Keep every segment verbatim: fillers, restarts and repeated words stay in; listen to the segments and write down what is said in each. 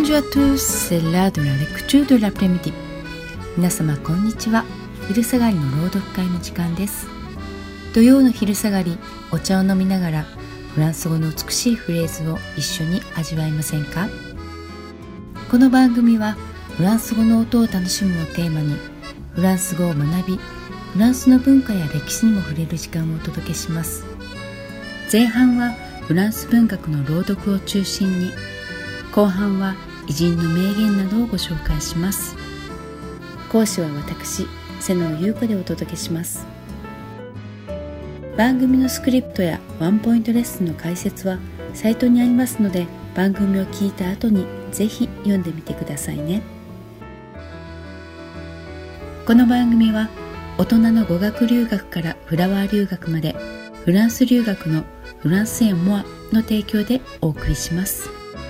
Bonjour à tous, c'est l'heure de la lecture de l'après-midi. 皆様こんにちは。昼下がりの朗読会の時間です。土曜の昼下がり、お茶を飲みながらフランス語の美しいフレーズを一緒に味わいませんか？この番組はフランス語の音を楽しむをテーマに、フランス語を学び、フランスの文化や歴史にも触れる時間をお届けします。前半はフランス文学の朗読を中心に、後半は偉人の名言などをご紹介します。講師は私、瀬野優子でお届けします。番組のスクリプトやワンポイントレッスンの解説はサイトにありますので、番組を聞いた後にぜひ読んでみてくださいね。この番組は大人の語学留学からフラワー留学まで、フランス留学のフランスエンモアの提供でお送りします。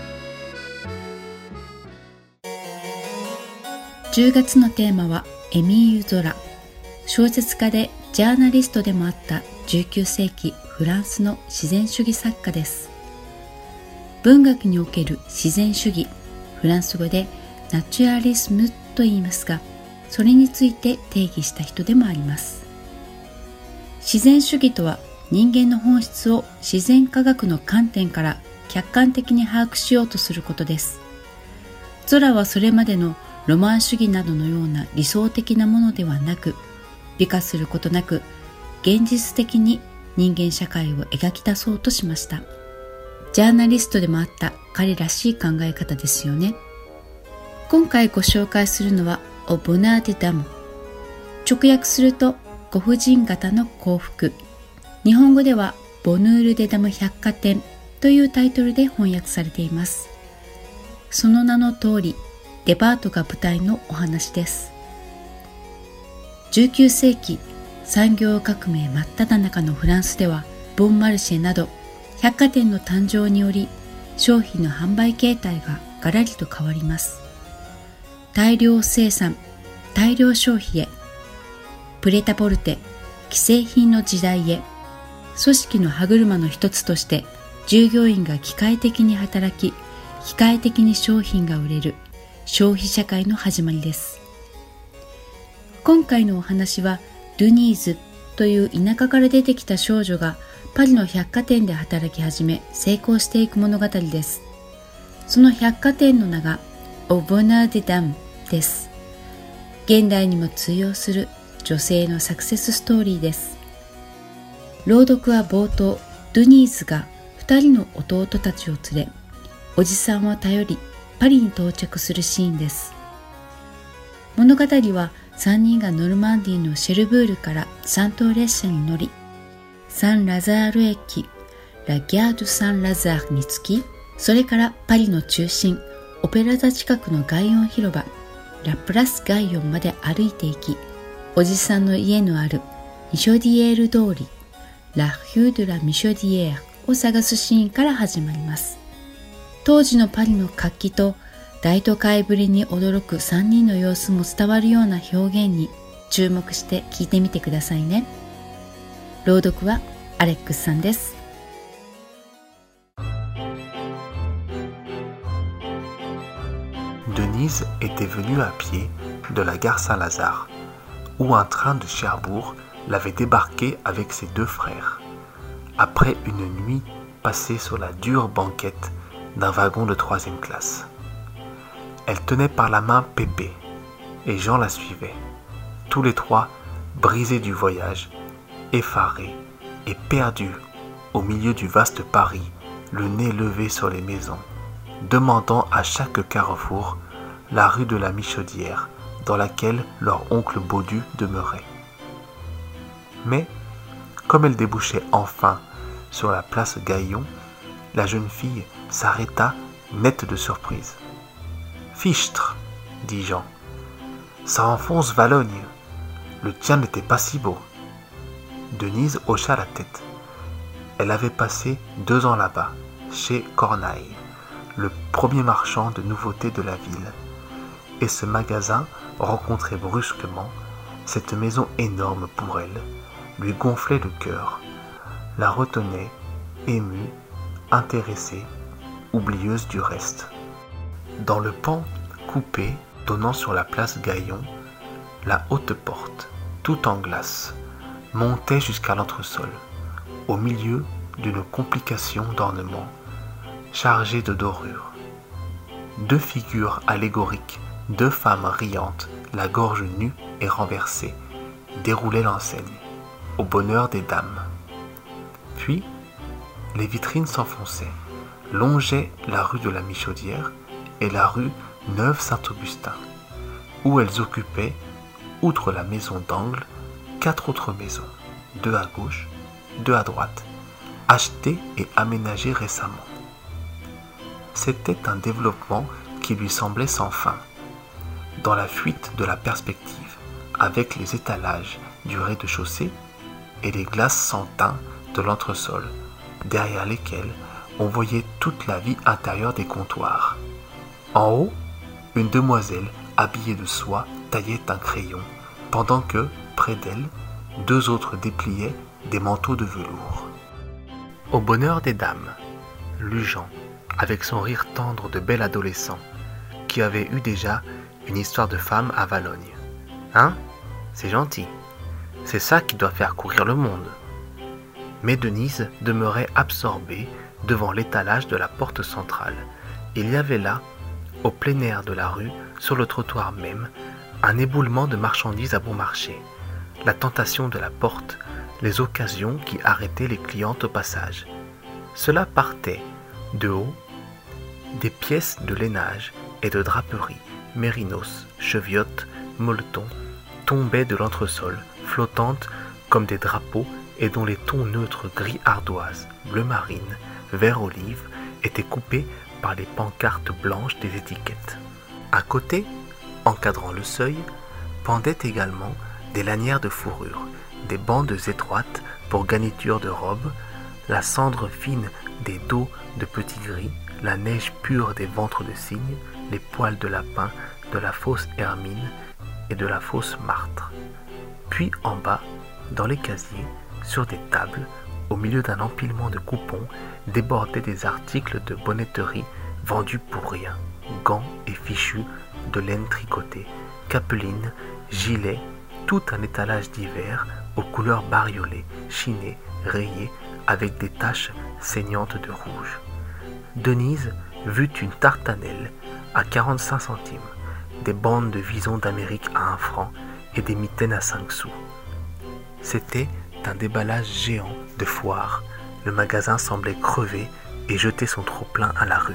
じゅうがつのテーマはエミール・ゾラ。小説家でジャーナリストでもあったじゅうきゅうせいきフランスの自然主義作家です。文学における自然主義、フランス語でナチュラリスムと言いますが、それについて定義した人でもあります。自然主義とは、人間の本質を自然科学の観点から客観的に把握しようとすることです。ゾラはそれまでのロマン主義などのような理想的なものではなく、美化することなく現実的に人間社会を描き出そうとしました。ジャーナリストでもあった彼らしい考え方ですよね。今回ご紹介するのはオボナーデダム。直訳するとご婦人方の幸福。日本語ではボヌール・デダム百貨店というタイトルで翻訳されています。その名の通り、デパートが舞台のお話です。じゅうきゅうせいき、産業革命真っ只中のフランスでは、ボンマルシェなど百貨店の誕生により、商品の販売形態がガラリと変わります。大量生産、大量消費へ、プレタポルテ、既製品の時代へ、組織の歯車の一つとして従業員が機械的に働き、機械的に商品が売れる消費社会の始まりです。今回のお話は、ドゥニーズという田舎から出てきた少女がパリの百貨店で働き始め成功していく物語です。その百貨店の名がオボナーデダムです。現代にも通用する女性のサクセスストーリーです。朗読は冒頭、ドゥニーズが二人の弟たちを連れ、おじさんを頼りパリに到着するシーンです。物語はさんにんがノルマンディーのシェルブールからさんとう列車に乗り、サン・ラザール駅、ラ・ギャード・サン・ラザールに着き、それからパリの中心、オペラ座近くのガイオン広場、ラ・プラス・ガイオンまで歩いていき、おじさんの家のあるミショディエール通り、ラ・ヒュー・ドゥ・ラ・ミショディエールを探すシーンから始まります。当時のパリの活気と大都会ぶりに驚くさんにんの様子も伝わるような表現に注目して聞いてみてくださいね。朗読はアレックスさんです。 Denise était venue à pied de la gare Saint-Lazare, où un train de Cherbourg l'avait débarquée avec ses deux frères, après une nuit passée sur la dure banquette d'un wagon de troisième classe. Elle tenait par la main Pépé, et Jean la suivait, tous les trois brisés du voyage, effarés et perdus au milieu du vaste Paris, le nez levé sur les maisons, demandant à chaque carrefour la rue de la Michodière dans laquelle leur oncle Baudu demeurait. Mais, comme elle débouchait enfin sur la place Gaillon, la jeune fille s'arrêta nette de surprise. « Fichtre !» dit Jean. « Ça enfonce Valogne. Le tien n'était pas si beau. » Denise hocha la tête. Elle avait passé deux ans là-bas, chez Cornaille, le premier marchand de nouveautés de la ville. Et ce magasin rencontrait brusquement cette maison énorme pour elle, lui gonflait le cœur, la retenait, émue, intéressée, oublieuse du reste. Dans le pan coupé donnant sur la place Gaillon, la haute porte, toute en glace, montait jusqu'à l'entresol, au milieu d'une complication d'ornements, chargée de dorures. Deux figures allégoriques, deux femmes riantes, la gorge nue et renversée, déroulaient l'enseigne, au bonheur des dames. Puis, les vitrines s'enfonçaient, longeaient la rue de la Michaudière et la rue Neuve-Saint-Augustin, où elles occupaient, outre la maison d'angle, quatre autres maisons, deux à gauche, deux à droite, achetées et aménagées récemment. C'était un développement qui lui semblait sans fin, dans la fuite de la perspective, avec les étalages du rez-de-chaussée et les glaces sans teint de l'entresol, derrière lesquelles on voyait toute la vie intérieure des comptoirs. En haut, une demoiselle habillée de soie taillait un crayon, pendant que, près d'elle, deux autres dépliaient des manteaux de velours. Au bonheur des dames, Lujan, avec son rire tendre de bel adolescent, qui avait eu déjà une histoire de femme à Valogne. Hein? C'est gentil. C'est ça qui doit faire courir le monde. Mais Denise demeurait absorbée devant l'étalage de la porte centrale. Il y avait là, au plein air de la rue, sur le trottoir même, un éboulement de marchandises à bon marché, la tentation de la porte, les occasions qui arrêtaient les clientes au passage. Cela partait, de haut, des pièces de lainage et de draperie, mérinos, cheviotes, molletons, tombaient de l'entresol, flottantes comme des drapeaux et dont les tons neutres gris ardoise, bleu marine, vert olive étaient coupés par les pancartes blanches des étiquettes. À côté, encadrant le seuil, pendaient également des lanières de fourrure, des bandes étroites pour garniture de robe, la cendre fine des dos de petits gris, la neige pure des ventres de cygne, les poils de lapin de la fausse hermine et de la fausse martre. Puis en bas, dans les casiers, sur des tables, au milieu d'un empilement de coupons, débordaient des articles de bonnetterie vendus pour rien, gants et fichus de laine tricotée, capelines, gilets, tout un étalage d'hiver aux couleurs bariolées, chinées, rayées, avec des taches saignantes de rouge. Denise vit une tartanelle à quarante-cinq centimes, des bandes de visons d'Amérique à un franc et des mitaines à cinq sous. C'était un déballage géant de foire. Le magasin semblait crever et jeter son trop-plein à la rue.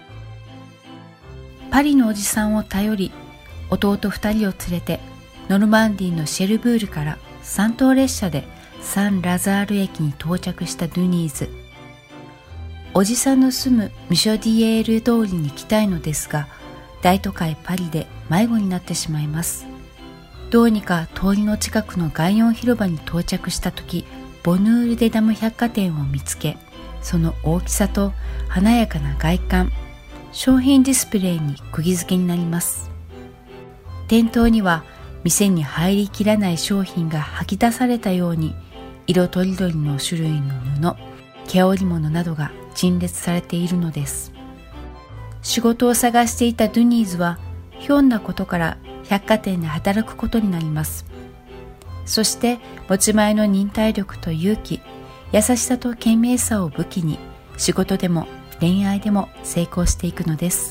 パリのおじさんを頼り、弟二人を連れてノルマンディーのシェルブールから三等列車でサン・ラザール駅に到着したドゥニーズ。おじさんの住むミショディエール通りに来たいのですが、大都会パリで迷子になってしまいます。どうにか通りの近くのガイオン広場に到着したとき、ボヌール・デ・ダム百貨店を見つけ、その大きさと華やかな外観、商品ディスプレイに釘付けになります。店頭には店に入りきらない商品が吐き出されたように、色とりどりの種類の布、毛織物などが陳列されているのです。仕事を探していたドゥニーズは、ひょんなことから百貨店で働くことになります。そして持ち前の忍耐力と勇気、優しさと賢明さを武器に、仕事でも恋愛でも成功していくのです。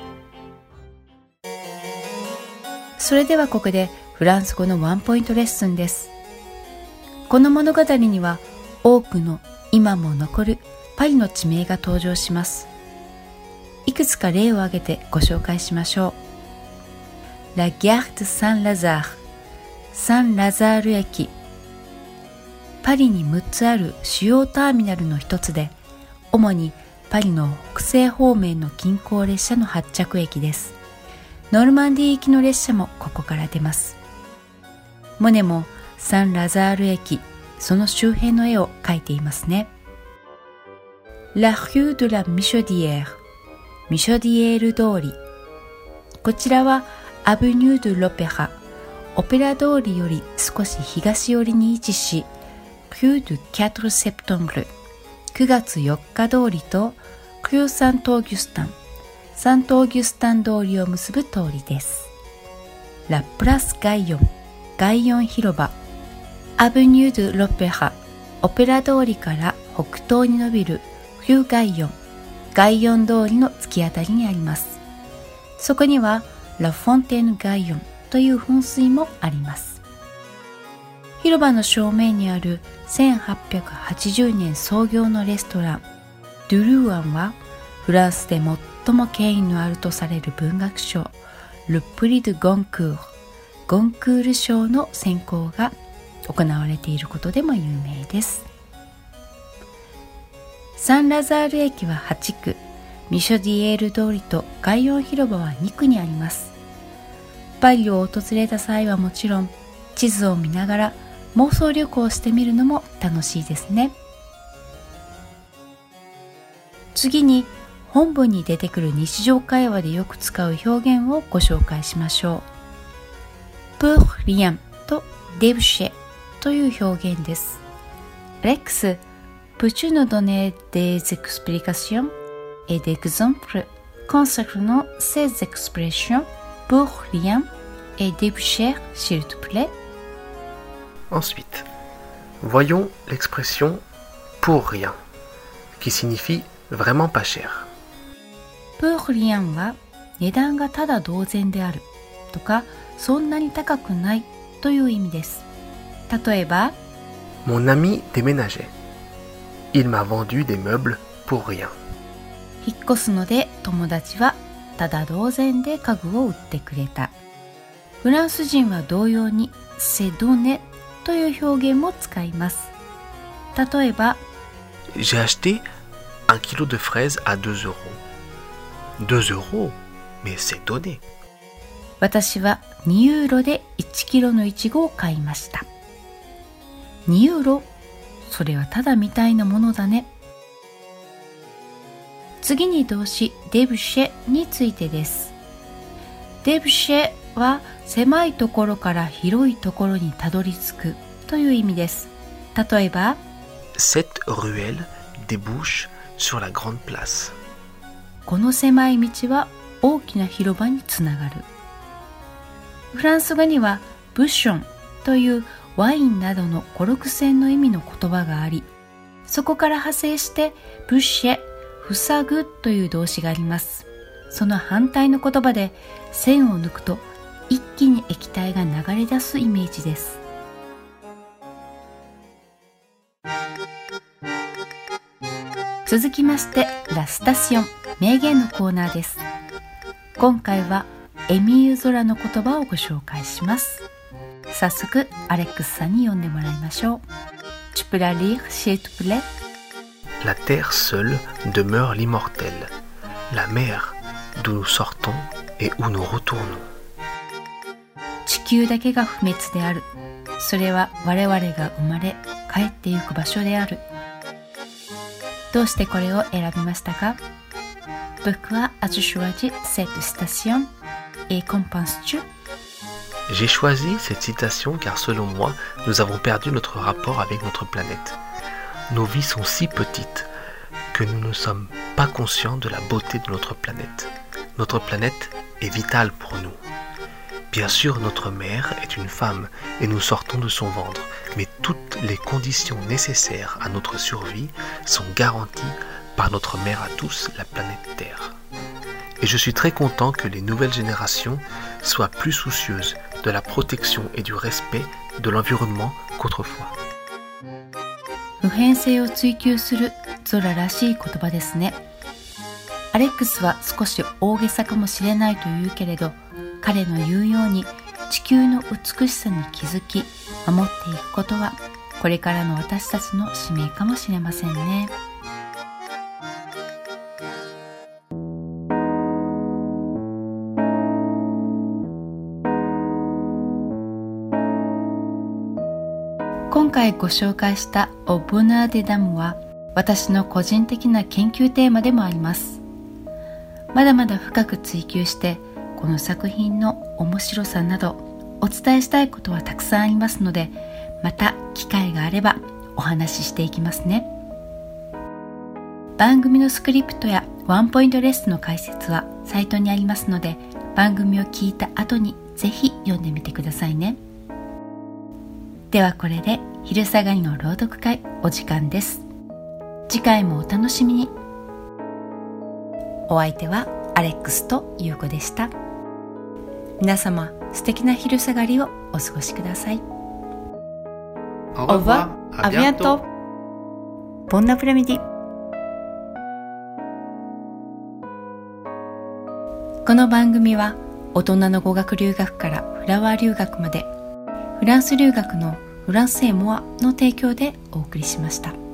それではここでフランス語のワンポイントレッスンです。この物語には多くの今も残るパリの地名が登場します。いくつか例を挙げてご紹介しましょう。La Gare de Saint-Lazare、サン・ラザール駅。パリにむっつある主要ターミナルの一つで、主にパリの北西方面の近郊列車の発着駅です。ノルマンディー行きの列車もここから出ます。モネもサン・ラザール駅、その周辺の絵を描いていますね。La rue de la Michaudière、ミショディエール通り。こちらはアブニュー・ドゥ・ロペラ、オペラ通りより少し東寄りに位置し、Rue du フォーセプテンブル、くがつよっか通りと、Rue Saint-Augustin、 サントオーギュスタン通りを結ぶ通りです。ラプラスガイヨン、ガイヨン広場、アブニュー・ドゥ・ロペラ、オペラ通りから北東に伸びるフューガイヨン、ガイヨン通りの突き当たりにあります。そこにはラ・フォンテーヌ・ガイヨンという噴水もあります。広場の正面にあるせんはっぴゃくはちじゅうねん創業のレストランドゥルーアンは、フランスで最も権威のあるとされる文学賞ルプリ・ドゥ・ゴンクール、ゴンクール賞の選考が行われていることでも有名です。サンラザール駅ははちく、ミショディエール通りとガイヨン広場はにくにあります。パリを訪れた際はもちろん、地図を見ながら妄想旅行してみるのも楽しいですね。次に本文に出てくる日常会話でよく使う表現をご紹介しましょう。pour rien と déboucher という表現です。Rex, peux-tu nous donner des explications et des exemples concernant ces expressions pour rien et déboucher, s'il te plaît? Ensuite, voyons l'expression pour rien, qui signifie vraiment pas cher. pour rien は値段がただ同然であるとか、そんなに高くないという意味です。例えば、 Mon ami déménageait. Il m'a vendu des meubles pour rien. 引っ越すので友達はただ同然で家具を売ってくれた。フランス人は同様にc'est donnéという表現も使います。例えば、 J'ai acheté un kilo de fraises à deux euros. deux euros, mais c'est donné. 私はにユーロでいちキロのイチゴを買いました。にユーロ、それはただみたいなものだね。次に動詞デブシェについてです。デブシェは狭いところから広いところにたどり着くという意味です。例えば、 Cette ruelle débouche sur la grande place. この狭い道は大きな広場につながる。フランス語にはブッションというワインなどの語録線の意味の言葉があり、そこから派生してブッシェ、塞ぐという動詞があります。その反対の言葉で線を抜くと一気に液体が流れ出すイメージです。続きましてラスタシオン、名言のコーナーです。今回はエミーユゾラの言葉をご紹介します。早速アレックスさんに読んでもらいましょう。Tu peux la lire, s'il te plaît? La terre seule demeure l'immortel, la mer d'où nous sortons et où nous retournons. 地球だけが不滅である。それは我々が生まれ帰ってゆく場所である。どうしてこれを選びましたか？ Pourquoi as-tu choisi cette citation et qu'en penses-tu? J'ai choisi cette citation car selon moi, nous avons perdu notre rapport avec notre planète. Nos vies sont si petites que nous ne sommes pas conscients de la beauté de notre planète. Notre planète est vitale pour nous. Bien sûr, notre mère est une femme et nous sortons de son ventre, mais toutes les conditions nécessaires à notre survie sont garanties par notre mère à tous, la planète Terre. Et je suis très content que les nouvelles générations soient plus soucieuses de la protection et du respect de l'environnement qu'autrefois. 普遍性を追求するゾラらしい言葉ですね。アレックスは少し大げさかもしれないと言うけれど、彼の言うように地球の美しさに気づき守っていくことはこれからの私たちの使命かもしれませんね。今回ご紹介したオブナーデダムは私の個人的な研究テーマでもあります。まだまだ深く追求してこの作品の面白さなどお伝えしたいことはたくさんありますので、また機会があればお話ししていきますね。番組のスクリプトやワンポイントレッスンの解説はサイトにありますので、番組を聞いた後にぜひ読んでみてくださいね。ではこれで昼下がりの朗読会お時間です。次回もお楽しみに。お相手はアレックスとユウコでした。皆様素敵な昼下がりをお過ごしください。 Au revoir, à bientôt. Bon après-midi。この番組は大人の語学留学からフラワー留学まで、フランス留学のフランスエモアの提供でお送りしました。